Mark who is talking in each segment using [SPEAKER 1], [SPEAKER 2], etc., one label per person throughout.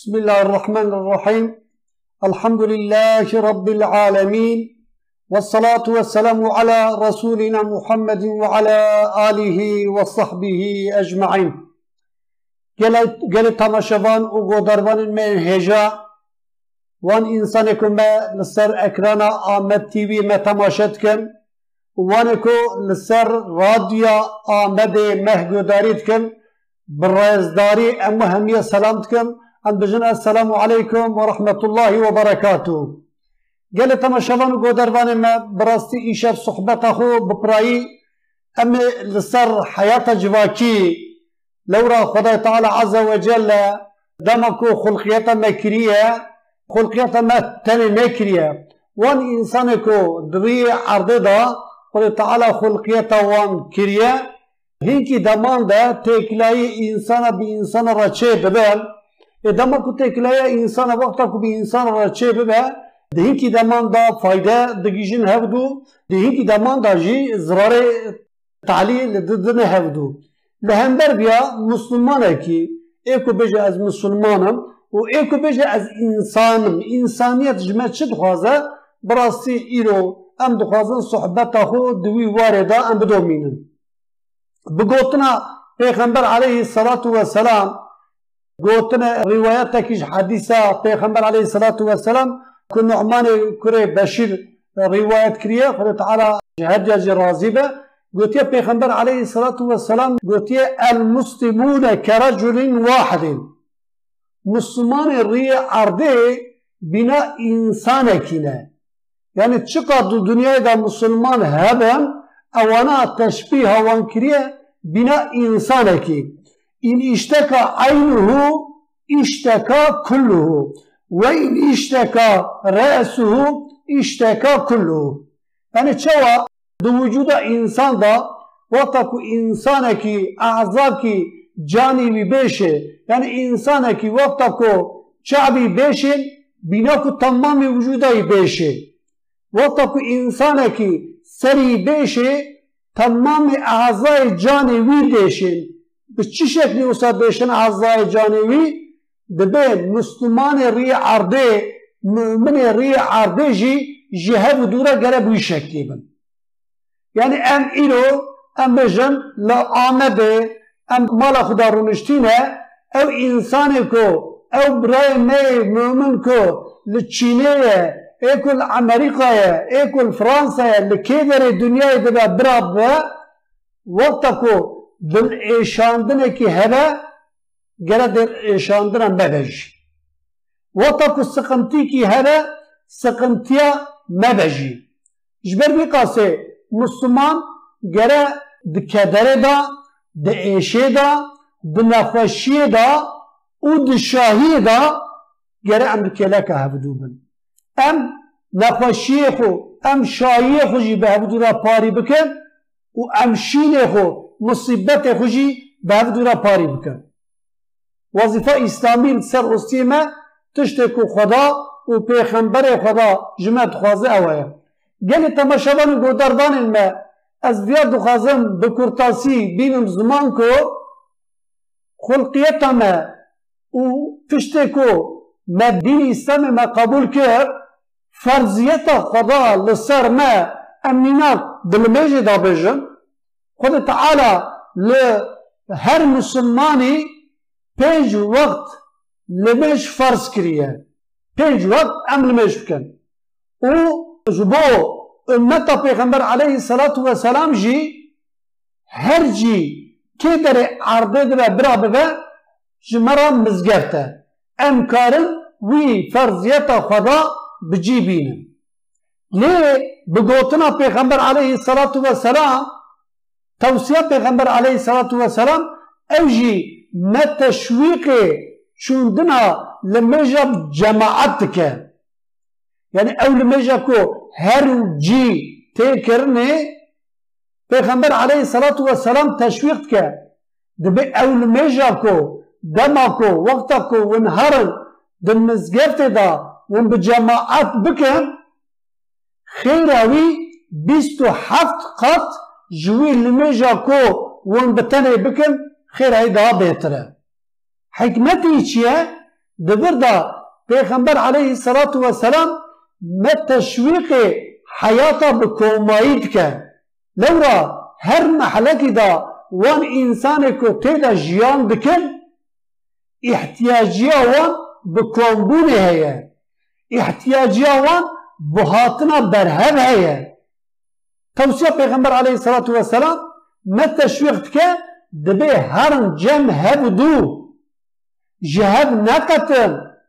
[SPEAKER 1] بسم الله الرحمن الرحيم. الحمد لله رب العالمين، والصلاة والسلام على رسولنا محمد وعلى آله وصحبه أجمعين. قال تماشوان وقدروان من هجا وان إنسانكم لسر أكرانا آمد تيوي ما تماشتكم وانكو لسر راديو آمد مهجوداريتكم بالرازداري أما همية سلامتكم أن بجنا السلام عليكم ورحمة الله وبركاته. قال تماشوان وقدروان ما براستي إيشاف صحبته ببراي أما لسر حياة جواكي لورا خدای تعالی عز وجل دمكو خلقيتا مكرية خلقيتا ما تاني مكرية وان إنسانكو دري عرضه دا خدای تعالی خلقيتا وان كرية هنكي دمان دا تكلاي إنسان بإنسان رچه ببال دمكو تكلاي إنسان وقتكو بإنسان رچه ببال هنكي دمان دا فايدة دقيجين هفدو هنكي دمان دا جي زرار تعليل ضدن هفدو لهندر بیا مسلمانه کی ایکو بجه از مسلمانم و ایکو بجه از انسانم انسانیت جمعه چه دخوازه براستی ایرو ام دخوازن صحبت خو دوی وارده ام بدومینن بگوتنا پیغمبر علیه الصلاة والسلام گوتنا روایت تکیش حدیثه پیغمبر علیه الصلاة والسلام که نعمان کره بشیر روایت کریه خدا تعالی هرجاج راضی به قلت يا پیغمبر عليه الصلاة والسلام قلت يا المسلمون كرجل واحد مسلمان الرياء عرضه بنا إنسانكنا يعني تشقد الدنيا دا مسلمان هبا أوانا تشبيه وانكريا بنا إنسانك إن اشتكى عينه اشتكى كله وإن اشتكى رأسه اشتكى كله يعني تشوى دو وجود انسان دا وقتا کو انسان کی اعضا کی جانی بھی بیشه یعنی انسان کی وقتا کو شعبی بیشه بنا کو تمام وجودی بیشه وقتا کو انسان کی سری بیشه تمام اعضای جانی وی بیشه به چی شکلی اصلا بیشن اعضای جانی وی دبه مسلمان ری عرده مؤمن ری عرده جهه و دوره گره بوی شکلی بن يعني ام إيرو ام بجن لا آمده ام مالا خدا رونشتينه او إنسانكو او براي مي مؤمنكو لتشينيه ايكو الأمريكا ايكو الفرنسا لكيدر الدنيا دبا براب وقتكو بالإيشاندنه كي هبا قرد الإيشاندنه مبج وقتكو سقنتي كي هبا سقنتيا مبجي جبر بقاسي مسلمان گره د کدره دا د عیشه دا د نخوشی دا و د شاهی دا گره ام دکله که هفدو بن ام نخوشی خو ام شاهی خو جی به هفدو را پاری بکن و ام شین خو مصیبت خو جی به هفدو را پاری بکن وظیفه اسلامی سر رستیمه تشتکو خدا و پیغمبر خدا جمعت خوازه اوه گلی تماشاوان گودردان ما از بیاد دخوازم بکرتاسی بینم زمان کو خلقیت ما و پشته کو ما دین اسلام ما قبول کرد فرضیت خدا لسر ما امنینات دلمیجه دا بجن خود تعالی لهر مسلمانی 5 وقت لمیج فرض کریه 5 وقت ام لمیج بکن و جبو امتا پیغمبر علیه الصلاة والسلام جی هر جی که در عرضه در برا ببه جمرا مزگرته امکارن وی فرضیت خدا بجی بینن لی بگوتنا پیغمبر علیه الصلاة والسلام توصیه پیغمبر علیه الصلاة والسلام او جی متشویق چوندنا لمجب جماعت که يعني أول ما جاكو هرجي تكرني پیغمبر عليه الصلاة والسلام تشويق كه دبي أول ما جاكو دماكو وقتكو ونهرن دم مزجرت دا ون بجماعات بكن خيراوي 27 قط جوي لما جاكو ون بتني بكن خير هيدا بيتره حكمتي چيه دبردا پیغمبر علیه الصلاة والسلام ما تشویق حیاتا بکومایید که لورا هر محلکی دا وان انسان کو تیدا جیان دکن احتیاجی وان بکومبونه هیا احتیاجی وان بهاتنا برهب هیا توصیه پیغمبر علیه الصلاة والسلام ما تشویق که دبی هرن جم هبدو جهب نقتن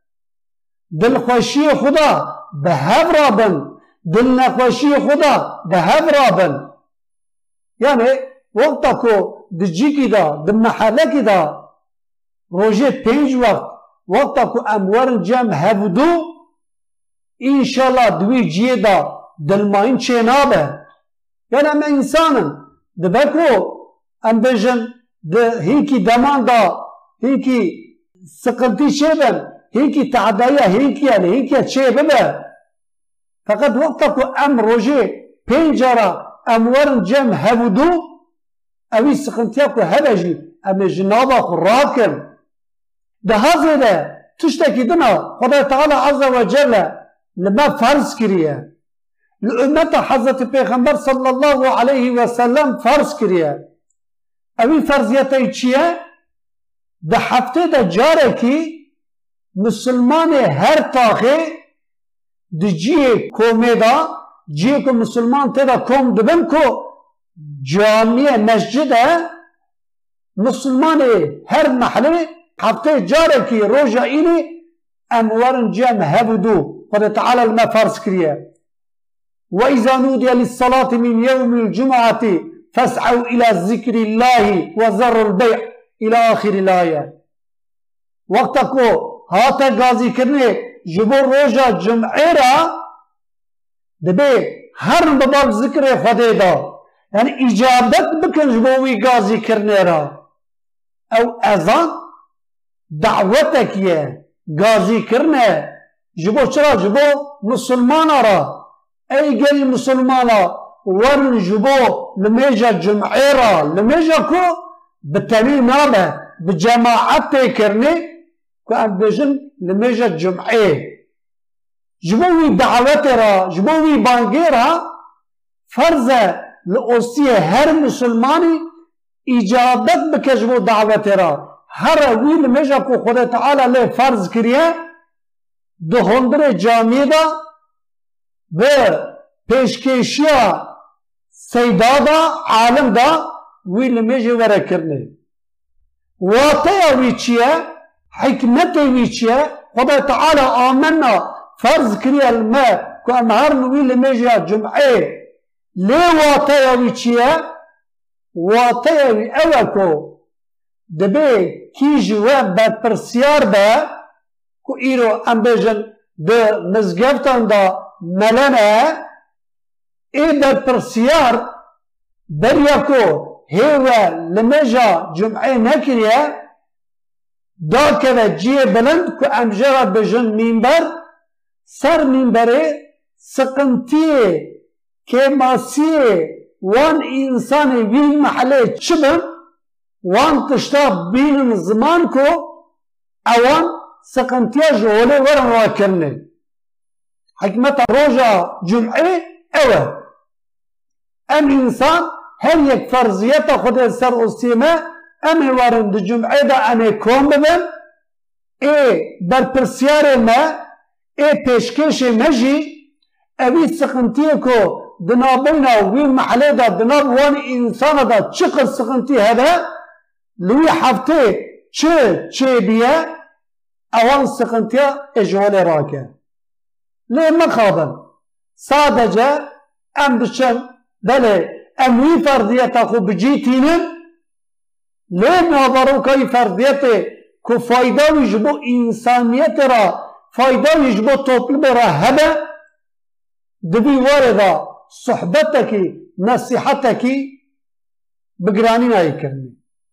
[SPEAKER 1] دلخوشی خدا به هب رابن دل نخوشی خدا به هب رابن یعنی وقتا کو دجی کی دا د محله کی دا روژه 5 وقتا کو اموارن جمع هبدو انشالله دوی جیه دا دلماین چه نابه یعنی ام انسانن دبکو ام بجن ده هیکی دمان دا هیکی سقلتی چه بن هیکی تعدایه هیکی یعنی هیکی چه ببه فقط وقتا کو ام روژه 5 اموارن جمع هبدو اوی سقلتیا کو هبجی ام جنابا خو راکن ده هزه ده تشتکی دنا خدا تعالی عز و جل لما فرض کریه لأمت حضرت پیغمبر صلی الله علیه و سلم فرض کریه اوی فرضیتی چیه؟ ده هفته ده جاره کی مسلمان هر تاخه ده جیه کومه دا جیه که مسلمان تیدا کوم دبن که جامعه مسجده مسلمان هر محله هفته جاره کی روژا اینی اموارن جمع هبدو قد تعالى لما فرض كريه وإذا نودي للصلاة من يوم الجمعة فاسعوا إلى ذكر الله وذروا البيع إلى آخر الآية وقتكو هاتا غازي كرني جبور روجا جمعه را دبي هر بباب ذكر خده دا يعني إجابت بكن جبوي غازي كرني را أو أذان دعوتك يه غازي كرني جبو چرا جبو مسلمان را ای گل مسلمان ورن جبو لمیجا جمعه را لمیجا کو بتنی نامه بجماعت کرنی کو ام بجن لمیجا جمعه جبوی دعوت را جبوی بانگی را فرض لأوسی هر مسلمانی اجابت بکه جبو دعوت را هر وی لمیجا کو خدا تعالی لی فرض کریه ده هندر جامعه دا و پیشکشیا سیدا دا عالم دا وی لمیجه وره کرنه واطه وی چیه حکمت وی چیه خدا تعالی آمنا فرض کری الماء که امهرن وی لمیجه جمعه لی واطه وی چیه واطه وی اوکو دبی کیج و بدپرسیار با کو ایرو ام بجن ده مزگفتان دا ملنه ای در پرسیار بریا کو هیوه لمجا جمعه نکریه دا که جیه بلند که امجرا بجن منبر سر منبره سقنتیه که ماسیه وان انسان وین محله چبن وان تشتا بین زمان کو اوان سقنتیه جوله ورن واکرنه حکمت روژا جمعه اوه ام انسان هر یک فرضیت خود سر استیمه ام وارند جمعه دا امه کون ببن ای بر پرسیار ما ای پیشکش مجی اوی سقنتیه کو دنابینا وی محله دا دناب وان انسان دا چقدر سقنتی هده لوی هفته چه بیه اوان سقنتیه اجوال راکه ليه ما خابن صادجة ام بشن بله ام وی فرضیت خو بجیتینن ليه نابرو که فرضیت که فایده ویجبو انسانیت را فایده ویجبو طوپل برا هبه دبی وارده صحبتکی نصیحتکی بگرانی نایی کرنی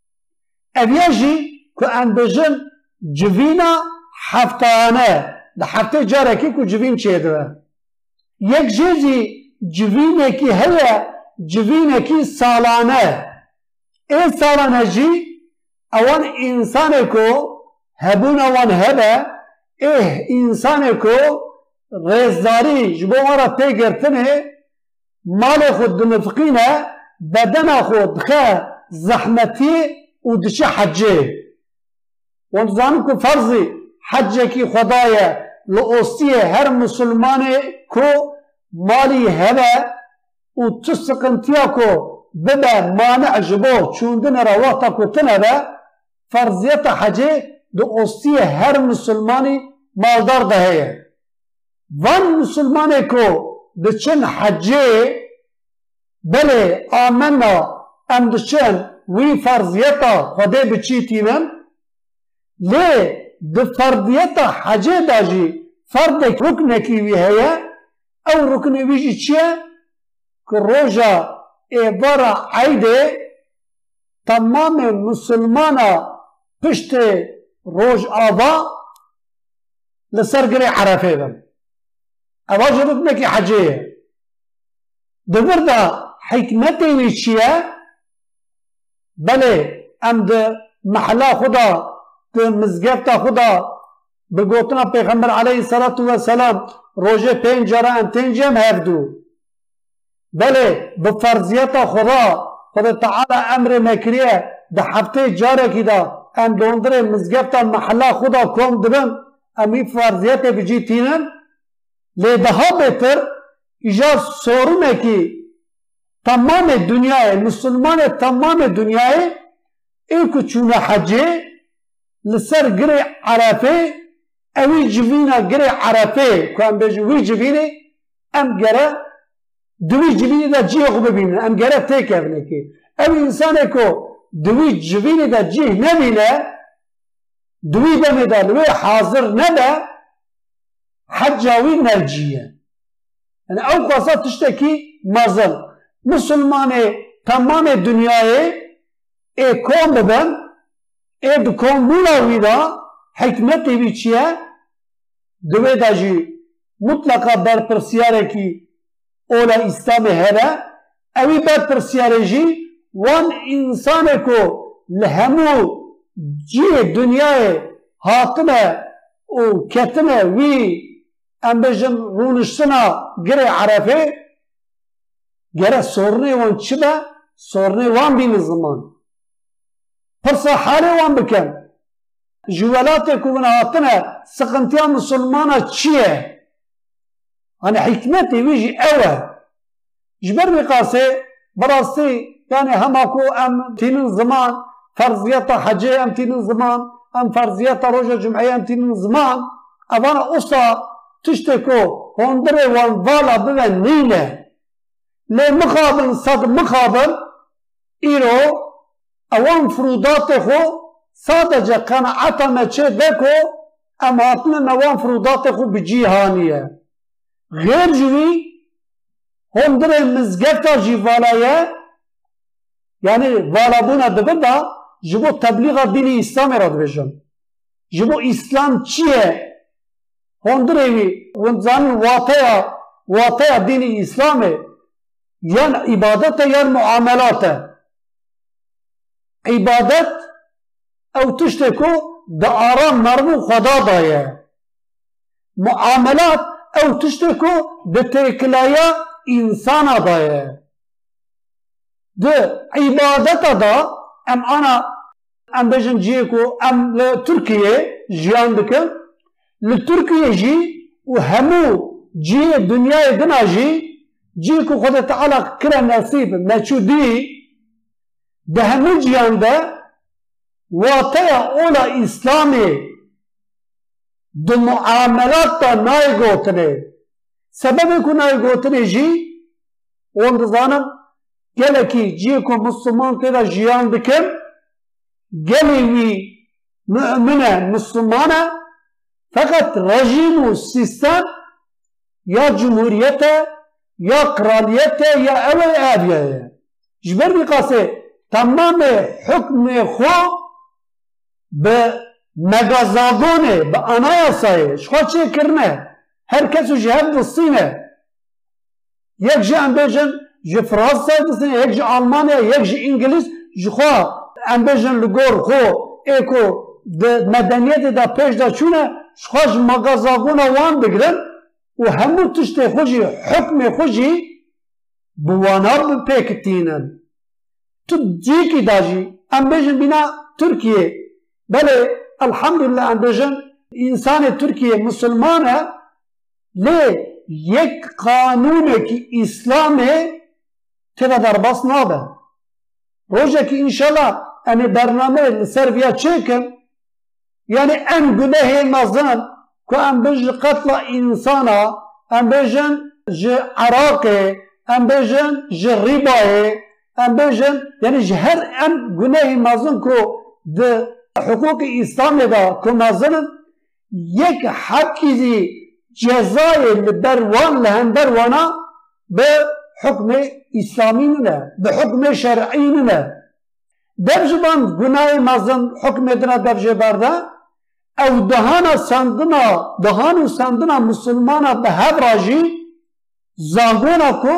[SPEAKER 1] اویجی که ام بجن جوینا هفتانه ده هفته جاره کی کو جوین چه دوه یک جزی جوینه کی هیا جوینه کی سالانه ای سالانه جی اوان انسان کو هبون اوان هبه انسان کو رزداری جبو مرا پیگرتنه مال خود دنفقینه بدن خود خه زحمتی و دچه حجه وانتظانم که فرضی حجه کی خدایه لأوستیه هر مسلمانه کو مالی هبه و تو سقنتیا کو ببه مانع جبو چوندن رواتا کو تنبه فرضیت حجه لأوستیه هر مسلمانی مالدار دهیه وان مسلمانه کو دچن حجه بله آمنا ام دچن وی فرضیتا خده بچیتینن لی ده فرضیتا حجه داجی فرد رکنکی وی هیا او رکن ویجی چیه که روژا ایوارا عیده تمام مسلمانا پشت روژ آبا لسرگری عرفه بم اواج رکنکی حجه دبر دا حکمتی وی چیه بله ام ده محلا خدا ده مزگفتا خدا بگوتنا پیغمبر علیه الصلاة والسلام روژه 5 جاره ام 5 جم هفدو بله بفرضیتا خدا تعالی امر مکریه ده هفته جاره کی دا ام دوندره مزگفتا محلا خدا کم دبن امی فرضیت بجی تینن لیده ها بهتر ایجا سورونه کی تمام دنیای مسلمان تمام دنیای ایکو چونه حجه لسر گره عرفه اوی جوینا گره عرفه که ام بجو وی جوینه ام گره دوی جوینه دا جیه خو ببینه ام گره تیک افنه که اوی انسانه که دوی جوینه دا جیه نبینه دوی بمیده لوی حاضر نده حجاوی نرجیه یعنی او قصد تشتکی مازل مسلمان تمام دنیای کام ببن کام مولوی دا حکمتی بی چیه دوی دا جی مطلقا برپرسیاره کی اولا اسلام هره اوی برپرسیاره جی وان انسان کو لهمو جی دنیای حاطمه و کتمه وی امبجن رونشتنا گره عرفه گره سورنه وان چی به؟ سورنه وان بین زمان پرسا حاله وان بکن جوالات کو بنهاتنه سقنتیا مسلمانا چیه؟ hani hikmeti vijî ew e ji ber vê qasê birastî yani hema ku em tînin ziman ferziyeta hecê em tînin ziman em ferziyeta roja cumeyê em tînin ziman evana usta tiştê ku hondirê wan vala bibe nîne lê mixabin sed mixabin îro ewan firodatê xwe sadece qenaeta me çê de ku em hatinin ewan firodatê xwe bi cîhanî ye غیر جوی هندر مزگفتا جی والایه یعنی والابونا دبن دا جبو تبلیغ دین اسلام را دبیشن جبو اسلام چیه هندر ایوی ونزان واطیا دین اسلامه یان عبادت یان معاملات عبادت او تشتکو دا آرام مرمو خدا دایه معاملات او تشتكو بتكلايا انسان دايه ده عبادت دا ام انا ام بجن جيكو ام لتركيا جيان دكن لتركيا جي وهمو جي الدنيا دنا جيكو خد تعالى كرا نصيب مچودي ده همو جيان ده واطيا اولا اسلامي دو معاملات تا نای گوتنه سبب کو نای گوتنه جی اون دزانم گله کی جی کو مسلمان تیرا جیان بکن گلی وی مؤمنه مسلمانه فقط رژیم و سیستم یا جمهوریت یا قرالیت یا اول آبیه جبر بی قاسه تمام حکم خو به مگازاگونه به انایاسایه شخوا چه کرنه هر کسو جهب دستینه یک جه انبیجن جه فرانسه دستینه یک جه آلمانیا یک جه انگلیس جخوا انبیجن لگور خو ایکو ده مدنیت دا پیش دا چونه شخاج مغازاغونا وان بگرن و همو تشتی خوشی حکم خوشی بوانا بپیکتینن. تو جیکی داجی ام بیجن بنا ترکیه بله الحمدلله ام بیجن انسان ترکیه مسلمانه لی یک قانونه که اسلامه تیرا در باس نابه روزه که انشالله امی برنامه لسر ویا چکن یعنی ام گناه مزن که ام بیجن قتل انسانا ام بیجن جه عراقه ام بیجن جه ریباه ام بیجن یعنی جه هر ام گناه مزن که ده حقوق اسلامی دا که مزنن یک حقی جزای لبروان لهندروانا به حکم اسلامی نه به حکم شرعی نه دبجبان گناه مزن حکم دنا دبجه برده او دهان سندنا مسلمانا به هر راجی زانگونا کو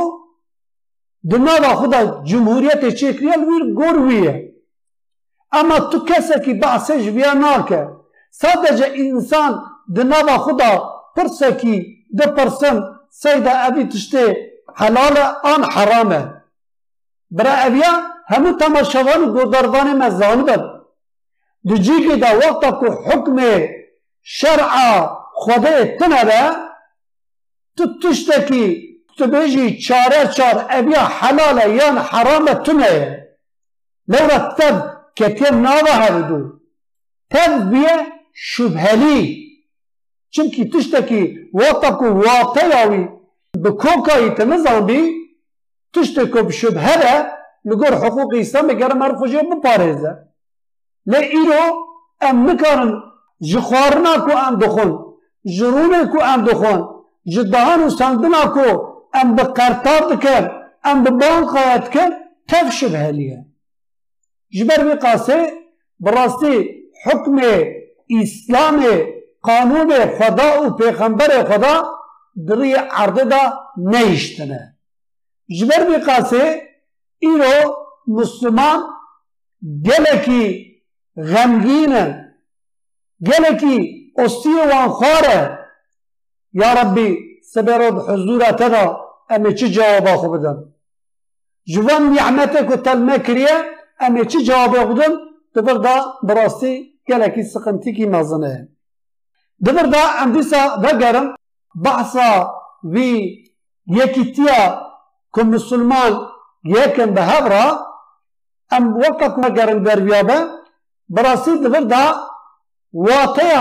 [SPEAKER 1] دنا و خدا جمهوریت چکریل ویر گرویه اما تو کسی که بحثش بیا ناکه sadece insan dınava xuda pırsaki de pırsın seyda evi tişte halale an harame bira eviya hemu tamaşavanı godarvanı mezzanıdır dici ki da vakta ku hükme şer'a xuda etine de tut tişteki tübeji çare eviya halale yan harame tüne levra teb ketem nava hevidu teb biye şüpheli. Çünkü tişteki vataku vatayavi bi kokayı temizan bi tişteki bi şüphere ligor hukuki İslam'ı gerem erfucu bu pareze. Le iro em nikarin jixwarina ku em dixun jirûnê ku em dixun ji dahan û sandina ku em bi qertar dikin em bi bankaya dikin tev şüpheliye. Ji ber vê qasê bi rastî hukmê İslam'ı, kanunu Xuda u Peygamber Xuda diri ardı da ne iştine. Jiber bir kası iro Müslüman geleki gamginen geleki ostiye van khare ya Rabbi seberod huzura tada eme çi cevaba xubdan. Jivan ni'mete ku telme kiriye eme çi cevaba xubdan tıbır da burası geleki sıkıntı ki mazene. Dıvır da endisa vegerim bahsa vi yekitiya ku Müslüman yekin behavra em vakit vegerim derviyabe burası dıvır da vataya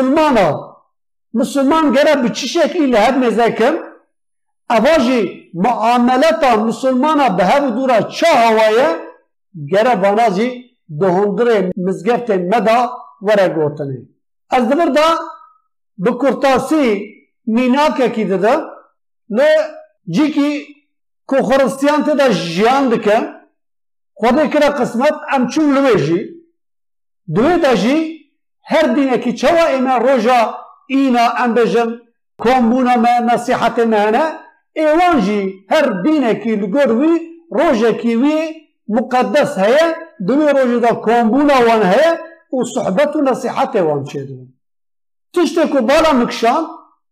[SPEAKER 1] Müslüman gere bir çi şekliyle hep mezekim avaji muameleta Müslümana behav dura ça havaya gere banaji dohundre mizgefte meda vere gotene. Az dibir da bi kurtasi minake ki dide le ciki ku Hristiyan te da jiyan dike Xwedê kira qismet em çûn li wê jî duê de jî her dînekî çawa ême roja îna em bêjin kombûna me nesîhetê me hene êwan jî her dînekî li gor wî rojekî wî muqeddes heye دوی روزی دا کامبونا وان هی و صحبت و نصیحت وان چیدن تشتی که بالا مکشان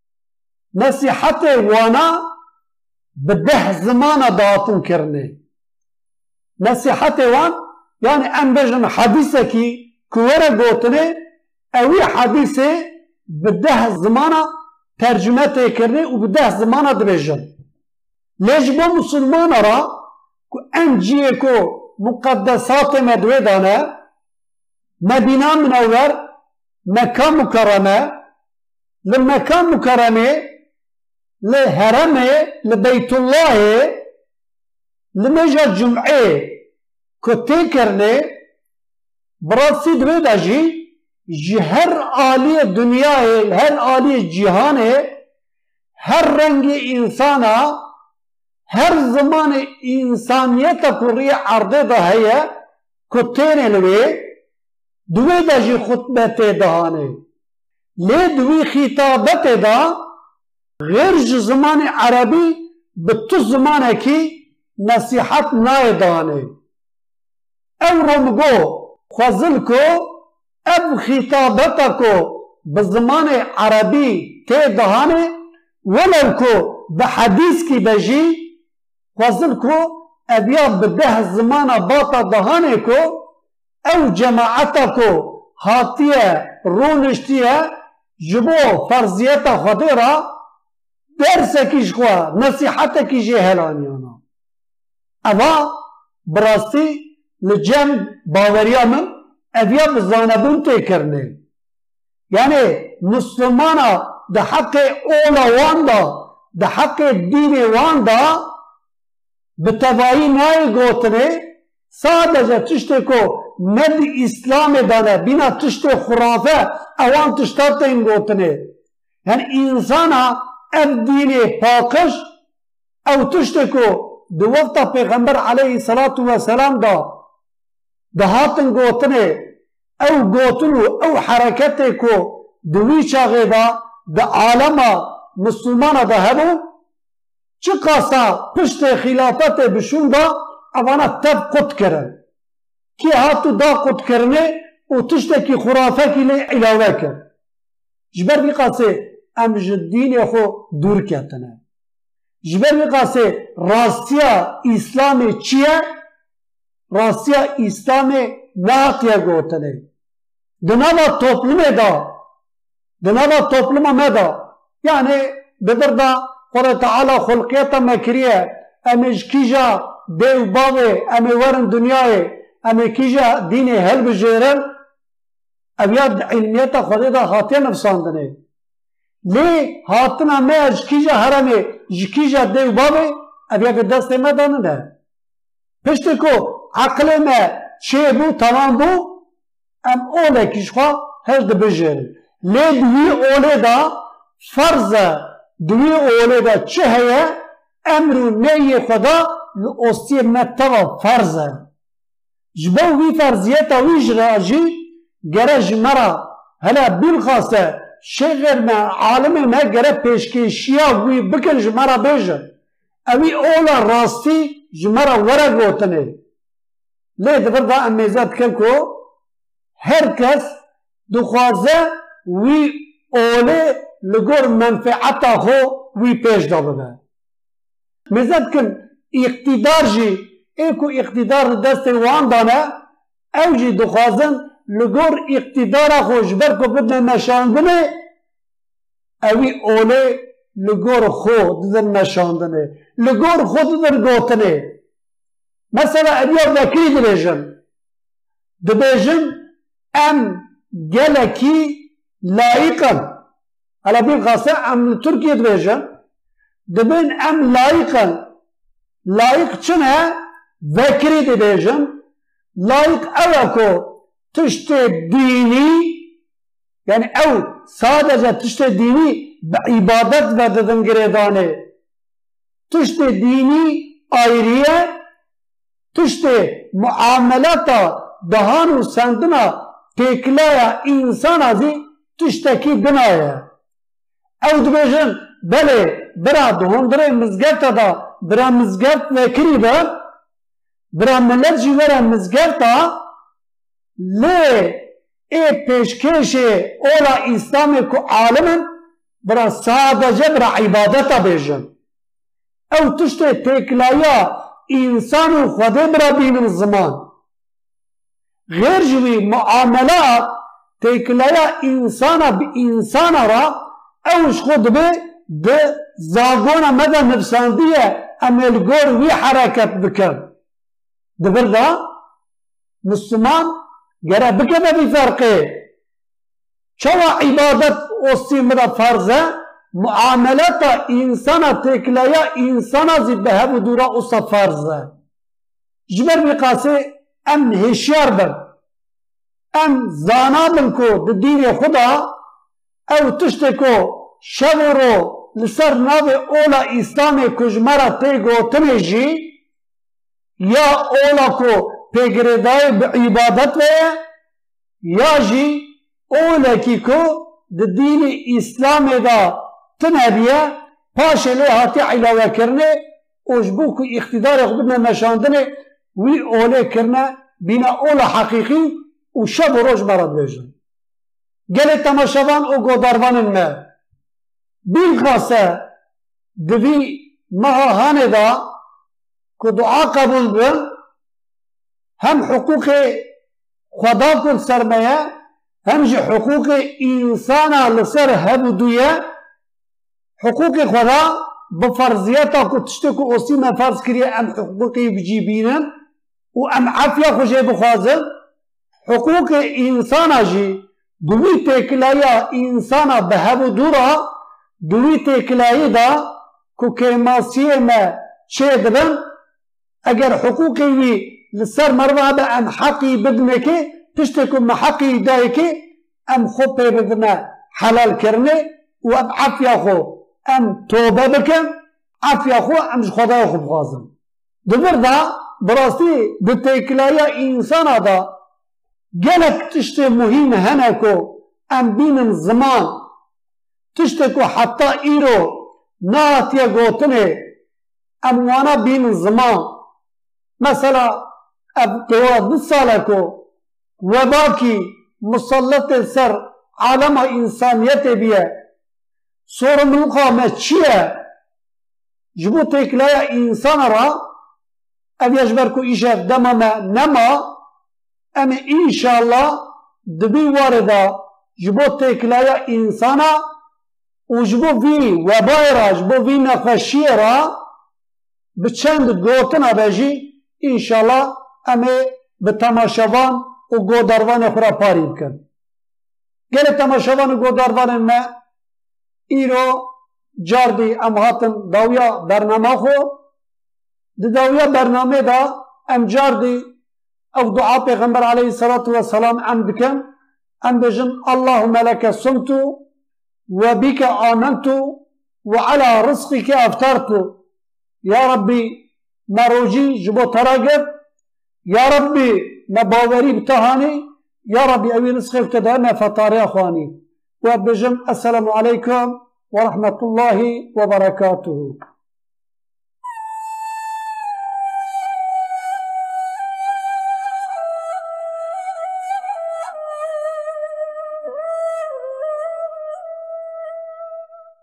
[SPEAKER 1] نصیحت وانا به 10 زمان داتون کرنه نصیحت وان یعنی ام بجن حدیثه کی کوره گوتنه اوی حدیثه به 10 زمان ترجمه کرنه و به 10 زمان دبجن لیجبا مسلمان را که انجیه که مقدسات مدودانه مدينة منور مكان مكرمة لمكان مكرمة لهرمه لبيت الله لمجا جمعه كتكرنه براسي دويداجي هر آلي الدنيا هر آلي الجهان هر رنگ انسانا هر زمان انسانیت پوری عرضه ده هیا کتین لوی دوی داجی خطبت دهانه لی دوی خطابت ده غیر زمان عربی به تو زمانه کی نصیحت نای دهانه او رمگو خوزل کو اب خطابت کو بزمان عربي تي دهانه ولو كو بحديث كي بجي وصل كو ابيا بده الزمان باطا دهانه كو او جماعتا كو هاتيه رونشتيه جبو فرضيتا خديرا درسكيش خوا نصيحتكي جهلانيانا اما براستی لجم باوریا من ابیا بزانبون تکرنه یعنی مسلمانا ده حق اولا واندا ده حق دین واندا بتوایی نای گوتنه سادجه تشتی کو ند اسلام دانه بینا تشتی خرافه اوان تشتارت این گوتنه یعنی انسانا اب دین پاکش او تشتی کو دو وقتا پیغمبر علیه الصلاة والسلام ده هاتن گوتنه او گوتنو او حرکته کو دوی چاگه ده عالم مسلمان ده هبو چه قاسا پشت خلافت بشون اوانا تب قد کرن کی هاتو دا قد کرنه و تشتکی خرافه کی لی علاوه کر جبر بی قاسه ام جدین خو دور کتنه جبر بی قاسه راستیا اسلام چیه راستیا اسلام ناتیا گوتنه دنابا توپلمه دنابا توپلمه مدا يعني ببردا قال تعالى خلقيتا مكريه امش كيجا ديو باوي امي ورن دنياي امي كيجا ديني هل بجيرن ابياد علميتا خديدا هاتين نفساندنه ليه هاتنا ما اش كيجا هرمي جكيجا ديو باوي ابياد دست ما داننه پشتكو عقل ما شي بو تمام بو ام اوله كيشخوا هل بجيرن ليه دوي اوله دا فرضه دوی اوله دا چه هیا امر و نهی خدا لأستی متوا فرضه جبو وی فرضیتا وی جراجی گره جمرا هلا بالخاصه شغل ما عالم ما گره پیشکشیا وی بکن جمرا بیجه اوی اولا راستی جمرا ورق گوتنه لی دفر دا امیزات کن کو هر کس دخوازه وی اوله لگور منفعتا خو وی پیش دابه مزد کن اقتدار جی ایکو اقتدار دست وان دانه او جی دخوازن لگور اقتدار خو جبر کو بدن نشاندنه اوی اوله لگور خو دن نشاندنه لگور خو دن گوتنه مثلا ابیا وکری دبیجن ام گلکی لایقا على بالخاصة ام تركيا دبيجا دبين ام لايقا لايق چنه ذكري دبيجا لايق اوكو تشتي ديني يعني او صادجة تشتي ديني بعبادت وددن گريدانه تشتي ديني آيرية تشتي معاملتا دهان و سندنا تكلايا انسان ازي تشتكي دنايا او دبيجن بله برا دهندره مزگرتا دا برا مزگرت وکری با برا ملت جیورا مزگرتا لی ای پیشکش اولا اسلامی کو عالمن برا سادجه برا عبادتا بیجن او تشت تکلایا انسان و خوده برا بین الزمان غیر جوی معاملات تکلایا انسانا بی انسانا را اوش خود به ده زاغونا مدى نفساندية امال گور وی حرکت بکن ده برده مسلمان گره بکنه بی فرقه چوا عبادت اصی مدى فرزه معاملت انسانا تکلایا انسانا زی بهب دورا اصا فرزه جبر بقاسه ام هشیار بر ام زانابن کو ده دین خدا او تشتکو شورو لسر ناو اولا اسلام کجمرا تیگو تنجی یا اولا کو پیگردای بعبادت ویا یا جی اولا کی کو ده دین اسلام دا تنبیه پاشه لی هاتی علاوه کرنه اوجبو کو اقتدار خودنا نشاندنه وی اولا کرنه بینا اولا حقیقی و شب و روش مرد بیجن گل تماشاوان و گوداروان ما بین خاصه دوی مهاهانه دا که دعا قبول بن هم حقوق خدا کل سرمایه هم جي حقوق انسانا لسر هبودوية حقوق خدا بفرضياتا كتشتكو اوسي ما فرض كريه ام حقوقي بجيبينن و ام عافية خوشي بخوازن حقوق انسانا جي دوي تكلايا انسانا بهبودورا دوي تكلايا دا كو كيماسيه ما شيدبن اگر حقوقي وي لسر مروه با ام حقي بدنكي تشتكو محقي دايكي ام خو بدنا حلال كرني و ام عافية خو ام توبه بكن عافية خو ام خدا خو بخوازن دبر دا براسي بتكلايا انسانا دا جلك تشتي مهم هنكو ام بين زمان تشتكو حتى ايرو ناتيا قوتني ام وانا بين زمان مثلا اب تواد سالكو وباكي مسلط سر عالم انسانيت بيه صور ملقا ما چيه جبو تكلايا انسان را اب يجبركو ايشه دمما نما اما ان شاء الله دبي واردا جبو تكلايا انسانا وجبو في وبايرا جبو في نخشيرا بچند گوتنا بجي ان شاء الله اما بتماشاوان و گوداروان خورا پاری بکن گل تماشاوان و گوداروان ما ایرو جاردی ام هاتن داویا برنامه خو داویا برنامه دا ام جاردی او دعا پیغمبر علیه الصلاة والسلام ام بکن ام بجن اللهم لك صمت وبك آمنت وعلى رزقك افطرت يا ربي ما روجي جبو تراقب يا ربي ما باوري بتهاني يا ربي أبي رزقي ابتدأنا فطاري أخواني وبجم السلام عليكم ورحمة الله وبركاته.